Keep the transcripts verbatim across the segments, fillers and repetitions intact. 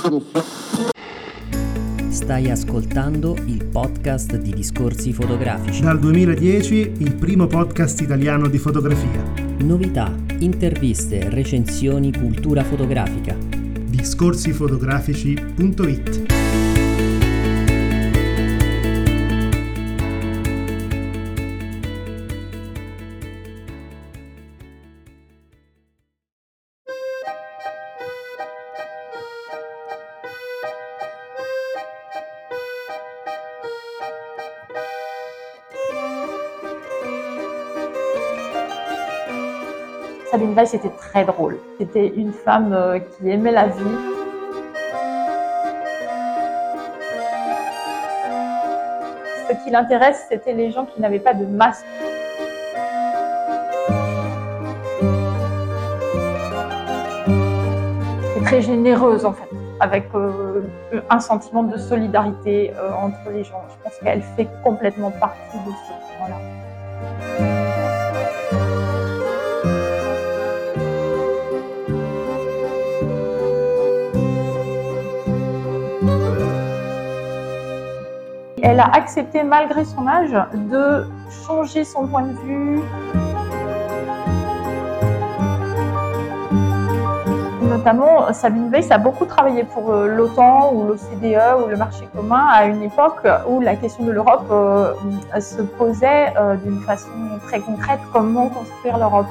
Stai ascoltando il podcast di Discorsi Fotografici. Dal duemiladieci il primo podcast italiano di fotografia. Novità, interviste, recensioni, cultura fotografica. discorsi fotografici punto it. Sabine Weiss était très drôle. C'était une femme euh, qui aimait la vie. Ce qui l'intéresse, c'était les gens qui n'avaient pas de masque. Elle est très généreuse en fait, avec euh, un sentiment de solidarité euh, entre les gens. Je pense qu'elle fait complètement partie de ce courant-là. Elle a accepté, malgré son âge, de changer son point de vue. Notamment, Sabine Weiss a beaucoup travaillé pour l'OTAN ou l'O C D E ou le marché commun à une époque où la question de l'Europe euh, se posait euh, d'une façon très concrète, comment construire l'Europe.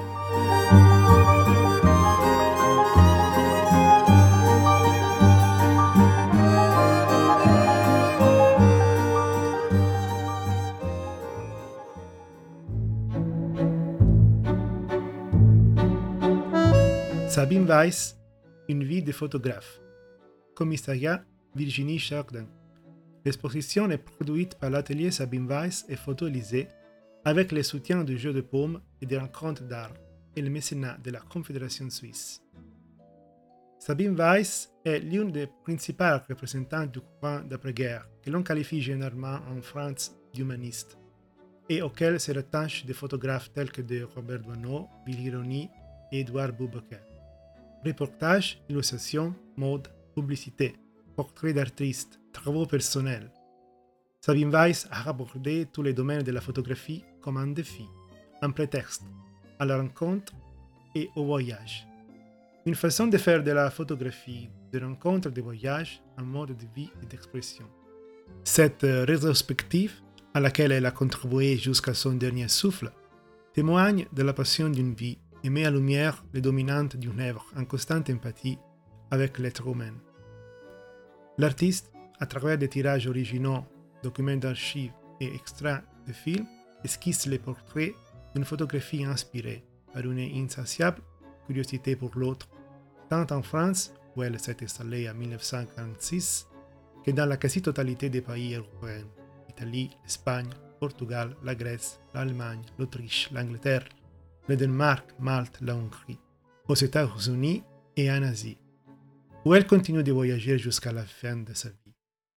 Sabine Weiss, une vie de photographe. Commissariat Virginie Chardin. L'exposition est produite par l'atelier Sabine Weiss et Photo Élysée avec le soutien du Jeu de Paume et des rencontres d'art et le mécénat de la Confédération suisse. Sabine Weiss est l'une des principales représentantes du courant d'après-guerre que l'on qualifie généralement en France d'humaniste et auquel se rattachent des photographes tels que de Robert Doisneau, Willy Rony et Édouard Boubacar. Reportages, illustrations, mode, publicité, portraits d'artistes, travaux personnels. Sabine Weiss a abordé tous les domaines de la photographie comme un défi, un prétexte à la rencontre et au voyage. Une façon de faire de la photographie, de rencontre, de voyage, un mode de vie et d'expression. Cette rétrospective, à laquelle elle a contribué jusqu'à son dernier souffle, témoigne de la passion d'une vie et met en lumière les dominantes d'une œuvre en constante empathie avec l'être humain. L'artiste, à travers des tirages originaux, documents d'archives et extraits de films, esquisse les portraits d'une photographie inspirée par une insatiable curiosité pour l'autre, tant en France, où elle s'est installée en dix-neuf cent quarante-six, que dans la quasi-totalité des pays européens, l'Italie, l'Espagne, le Portugal, la Grèce, l'Allemagne, l'Autriche, l'Angleterre, le Danemark, Malte, la Hongrie, aux États-Unis et en Asie, où elle continue de voyager jusqu'à la fin de sa vie.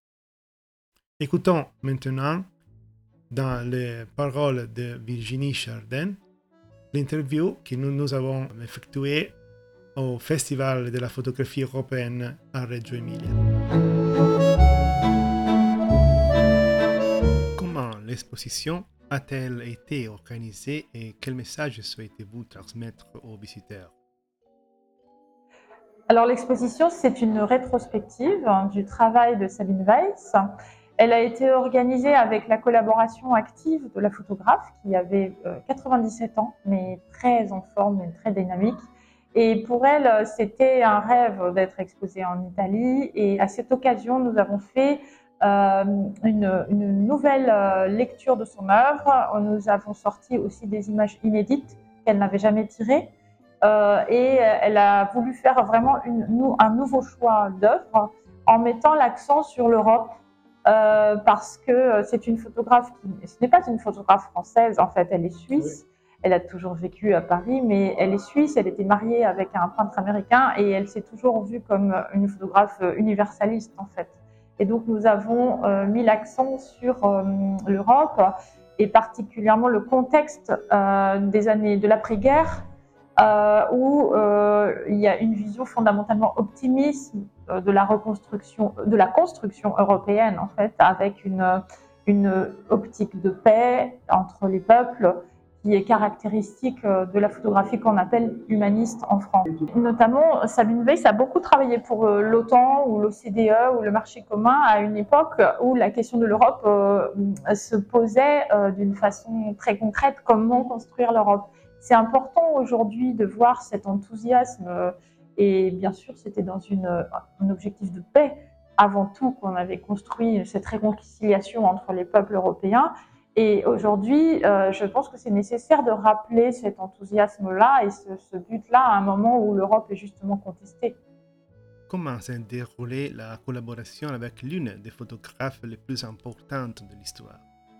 Écoutons maintenant, dans les paroles de Virginie Chardin, l'interview que nous, nous avons effectuée au Festival de la photographie européenne à Reggio Emilia. Comment l'exposition a-t-elle été organisée et quel message souhaitez-vous transmettre aux visiteurs? Alors l'exposition, c'est une rétrospective du travail de Sabine Weiss. Elle a été organisée avec la collaboration active de la photographe qui avait quatre-vingt-dix-sept ans, mais très en forme et très dynamique. Et pour elle, c'était un rêve d'être exposée en Italie. Et à cette occasion, nous avons fait Euh, une, une nouvelle euh, lecture de son œuvre. Nous avons sorti aussi des images inédites qu'elle n'avait jamais tirées euh, et elle a voulu faire vraiment une, un nouveau choix d'œuvre en mettant l'accent sur l'Europe euh, parce que c'est une photographe qui, ce n'est pas une photographe française en fait, elle est suisse. Oui. Elle a toujours vécu à Paris, mais elle est suisse, elle était mariée avec un peintre américain et elle s'est toujours vue comme une photographe universaliste en fait. Et donc nous avons euh, mis l'accent sur euh, l'Europe et particulièrement le contexte euh, des années de l'après-guerre euh, où euh, il y a une vision fondamentalement optimiste de la reconstruction, de la construction européenne en fait, avec une, une optique de paix entre les peuples qui est caractéristique de la photographie qu'on appelle humaniste en France. Notamment, Sabine Weiss a beaucoup travaillé pour l'OTAN ou l'O C D E ou le marché commun à une époque où la question de l'Europe euh, se posait euh, d'une façon très concrète, comment construire l'Europe. C'est important aujourd'hui de voir cet enthousiasme et bien sûr, c'était dans une, un objectif de paix avant tout qu'on avait construit cette réconciliation entre les peuples européens. Et aujourd'hui, euh, je pense que c'est nécessaire de rappeler cet enthousiasme-là et ce, ce but-là à un moment où l'Europe est justement contestée. Comment s'est déroulée la collaboration avec l'une des photographes les plus importantes de l'histoire?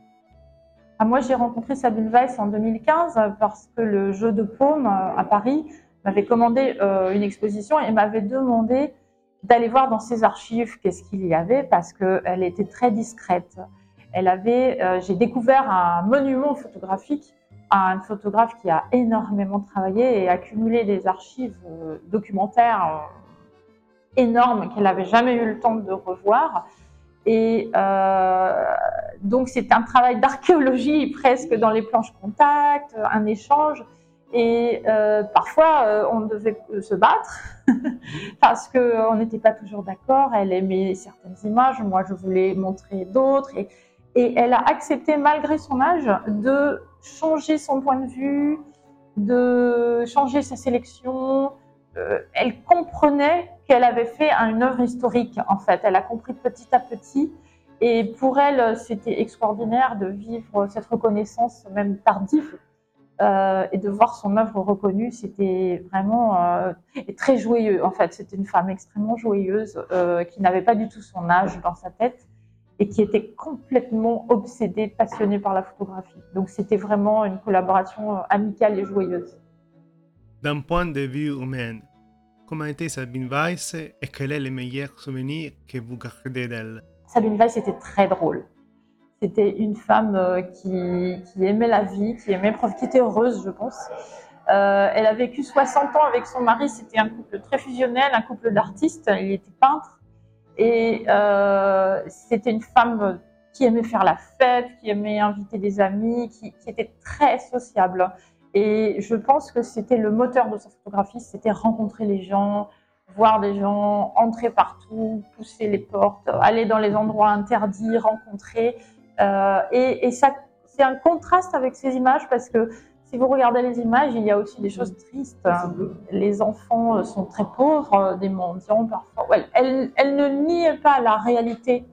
Ah, moi, j'ai rencontré Sabine Weiss en deux mille quinze parce que le Jeu de Paume à Paris m'avait commandé euh, une exposition et m'avait demandé d'aller voir dans ses archives qu'est-ce qu'il y avait parce qu'elle était très discrète. Elle avait, euh, j'ai découvert un monument photographique à un photographe qui a énormément travaillé et accumulé des archives euh, documentaires euh, énormes qu'elle n'avait jamais eu le temps de revoir. Et euh, donc c'est un travail d'archéologie presque dans les planches contact, un échange. Et euh, parfois, euh, on devait se battre parce qu'on n'était pas toujours d'accord. Elle aimait certaines images, moi je voulais montrer d'autres. Et, et elle a accepté, malgré son âge, de changer son point de vue, de changer sa sélection. Euh, elle comprenait qu'elle avait fait une œuvre historique, en fait. Elle a compris petit à petit. Et pour elle, c'était extraordinaire de vivre cette reconnaissance, même tardive. Euh, et de voir son œuvre reconnue, c'était vraiment euh, très joyeux. En fait, c'était une femme extrêmement joyeuse euh, qui n'avait pas du tout son âge dans sa tête et qui était complètement obsédée, passionnée par la photographie. Donc, c'était vraiment une collaboration amicale et joyeuse. D'un point de vue humain, comment était Sabine Weiss et quel est le meilleur souvenir que vous gardez d'elle? Sabine Weiss était très drôle. C'était une femme euh, qui, qui aimait la vie, qui aimait qui était heureuse, je pense. Euh, elle a vécu soixante ans avec son mari. C'était un couple très fusionnel, un couple d'artistes. Il était peintre. Et euh, c'était une femme qui aimait faire la fête, qui aimait inviter des amis, qui, qui était très sociable. Et je pense que c'était le moteur de sa photographie, c'était rencontrer les gens, voir des gens, entrer partout, pousser les portes, aller dans les endroits interdits, rencontrer. Euh, et, et ça, c'est un contraste avec ces images parce que si vous regardez les images, il y a aussi des choses tristes. Les enfants sont très pauvres, des mendiants parfois. Elle, elle, elle ne niait pas la réalité.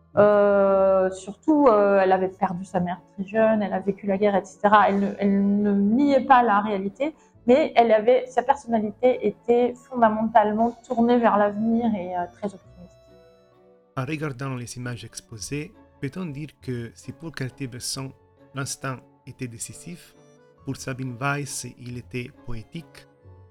Euh, surtout, euh, elle avait perdu sa mère très jeune, elle a vécu la guerre, et cetera. Elle ne, elle ne niait pas la réalité, mais elle avait, sa personnalité était fondamentalement tournée vers l'avenir et euh, très optimiste. En regardant les images exposées, peut-on dire que si pour Cartier-Bresson, l'instant était décisif, pour Sabine Weiss, il était poétique?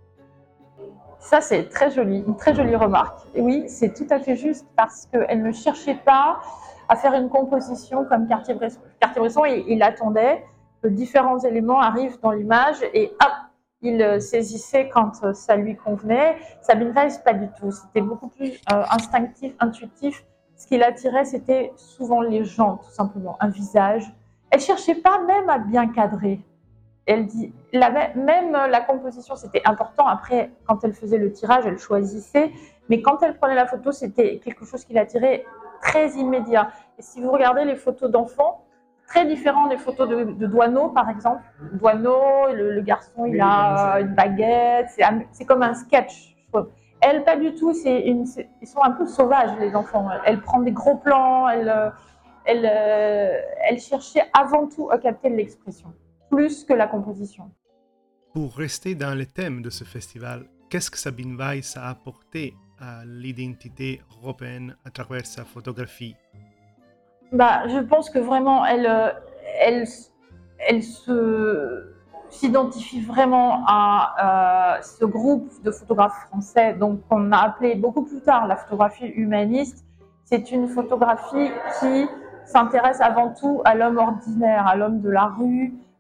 Ça, c'est très joli, une très jolie remarque. Et oui, c'est tout à fait juste parce qu'elle ne cherchait pas à faire une composition comme Cartier-Bresson. Cartier-Bresson, il, il attendait que différents éléments arrivent dans l'image et hop, il saisissait quand ça lui convenait. Sabine Weiss, pas du tout. C'était beaucoup plus euh, instinctif, intuitif. Ce qui l'attirait, c'était souvent les gens, tout simplement, un visage. Elle ne cherchait pas même à bien cadrer. Elle dit, la, même la composition, c'était important. Après, quand elle faisait le tirage, elle choisissait. Mais quand elle prenait la photo, c'était quelque chose qui l'attirait très immédiat. Et si vous regardez les photos d'enfants, très différent des photos de, de Doisneau, par exemple. Doisneau, le, le garçon, il a une baguette. C'est, c'est comme un sketch, je trouve. Elle, pas du tout. C'est une, c'est, ils sont un peu sauvages, les enfants. Elle prend des gros plans. Elle, elle, elle cherchait avant tout à capter l'expression, plus que la composition. Pour rester dans le thème de ce festival, qu'est-ce que Sabine Weiss a apporté à l'identité européenne à travers sa photographie? Bah, je pense que vraiment, elle, elle, elle se, s'identifie vraiment à euh, ce groupe de photographes français, donc qu'on a appelé beaucoup plus tard la photographie humaniste. C'est une photographie qui s'intéresse avant tout à l'homme ordinaire, à l'homme de la rue,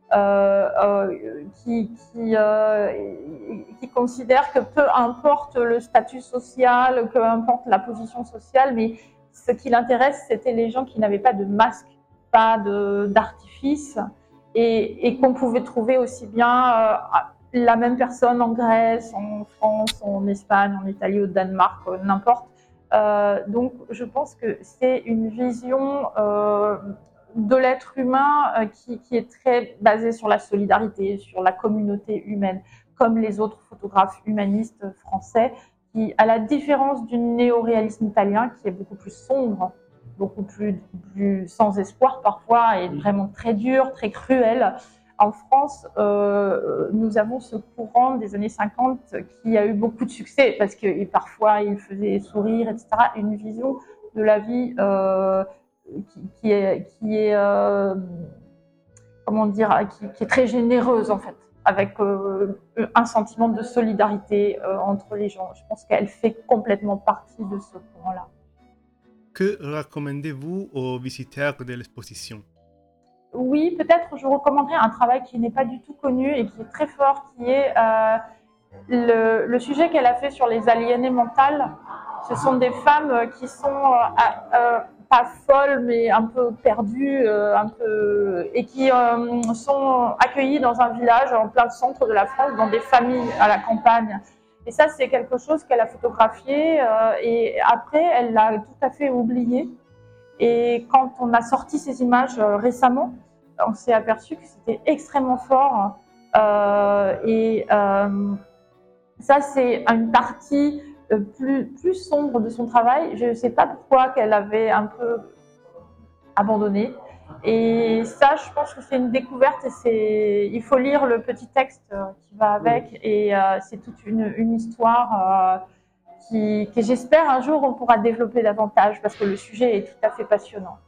euh, qui, qui, euh, qui considère que peu importe le statut social, peu importe la position sociale, mais ce qui l'intéresse, c'était les gens qui n'avaient pas de masque, pas d'artifice, et, et qu'on pouvait trouver aussi bien euh, la même personne en Grèce, en France, en Espagne, en Italie, au Danemark, n'importe. Euh, donc, je pense que c'est une vision euh, de l'être humain euh, qui, qui est très basée sur la solidarité, sur la communauté humaine, comme les autres photographes humanistes français, qui, à la différence du néo-réalisme italien, qui est beaucoup plus sombre, beaucoup plus, plus sans espoir parfois, et vraiment très dur, très cruel. En France, euh, nous avons ce courant des années cinquante qui a eu beaucoup de succès parce que parfois il faisait sourire, et cetera. Une vision de la vie euh, qui, qui est, qui est euh, comment dire, qui, qui est très généreuse en fait, avec euh, un sentiment de solidarité euh, entre les gens. Je pense qu'elle fait complètement partie de ce courant-là. Que recommandez-vous aux visiteurs de l'exposition? Oui, peut-être je recommanderais un travail qui n'est pas du tout connu et qui est très fort, qui est euh, le, le sujet qu'elle a fait sur les aliénées mentales. Ce sont des femmes qui sont euh, euh, pas folles, mais un peu perdues, euh, un peu, et qui euh, sont accueillies dans un village en plein centre de la France, dans des familles à la campagne. Et ça, c'est quelque chose qu'elle a photographié euh, et après, elle l'a tout à fait oublié. Et quand on a sorti ces images euh, récemment, on s'est aperçu que c'était extrêmement fort. Euh, et euh, ça, c'est une partie euh, plus, plus sombre de son travail. Je ne sais pas pourquoi qu'elle avait un peu abandonné. Et ça, je pense que c'est une découverte. Et c'est, il faut lire le petit texte euh, qui va avec. Et euh, c'est toute une, une histoire. Euh, Qui, que j'espère un jour on pourra développer davantage parce que le sujet est tout à fait passionnant.